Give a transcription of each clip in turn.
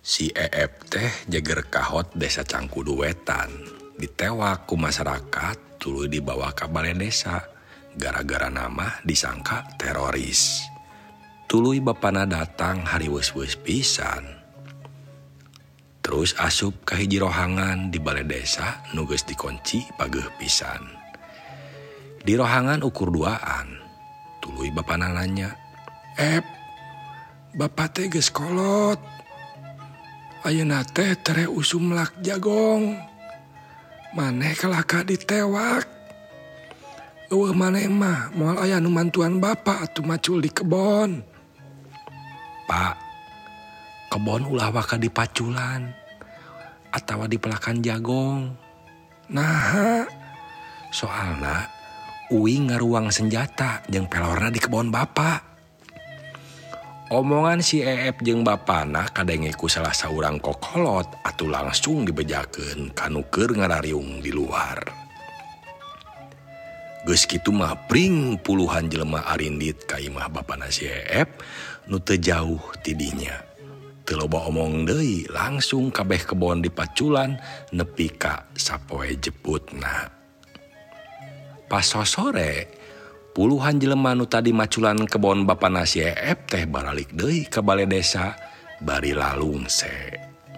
Si Eep teh jager kahot desa Cangkudu Wetan ditewak ku masyarakat tuluy dibawa ka balai desa gara-gara nama disangka teroris. Tuluy bapana datang hari weus-weus pisan. Terus asup ka hiji rohangan di balai desa nu geus dikunci pageuh pisan. Di rohangan ukur duaan. Tuluy bapana nanya, "Ep, bapak teh geus kolot. Ayeuna teh tere usum lak jagong. Maneh kelaka ditewak. Eueuh maneh mah moal aya nu mantuan bapak atuh macul di kebon." "Pak, kebon ulah waka di paculan atawa di pelakan jagong." "Naha?" "Soalna uing ngaruang senjata jeung pelorna di kebon bapak." Omongan si Eep jeung bapana kadenge ku salah saurang kokolot atuh langsung dibejakeun kanu keur ngarariung di luar. Geus kitu mah pring puluhan jelema arindit ka imah bapana si Eep nu teu jauh ti dinya. Teu loba omong deui langsung kabeh kebon dipaculan nepi ka sapoe jeputna. Pas sosore puluhan jelema nu tadi maculan kebon bapana si Eep teh baralik deui ka balai desa bari lalungse.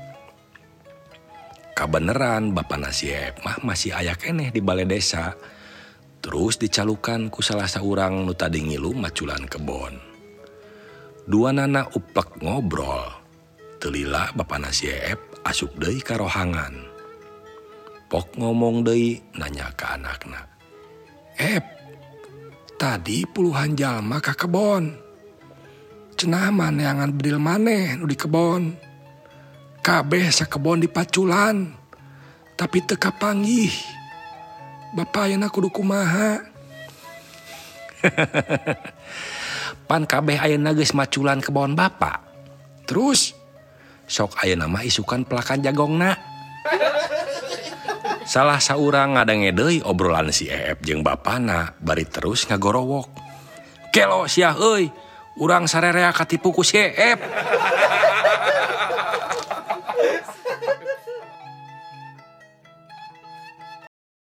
Kabeneran bapana si Eep mah masih aya keneh di balai desa. Terus dicalukan ku salah saurang nu tadi ngilu maculan kebon. Duanana upek ngobrol. Teu lila bapana si Eep asup deui ka rohangan. Pok ngomong deui nanya ka anakna, "Ep, tadi puluhan jalma ka kebon. Cenah maneangan bedil maneh nu di kebon. Kabeh sakebon dipaculan, tapi teu kapanggih. Bapak ayeuna kudu kumaha?" "Pan kabeh ayeuna geus maculan kebon bapak. Terus sok ayeuna mah isukan pelakan jagongna." Salah saurang ngadenge deui obrolan si Eep jeung bapana bari terus ngagorowok, "Kelo sia euy, urang sarerea katipu ku si Eep."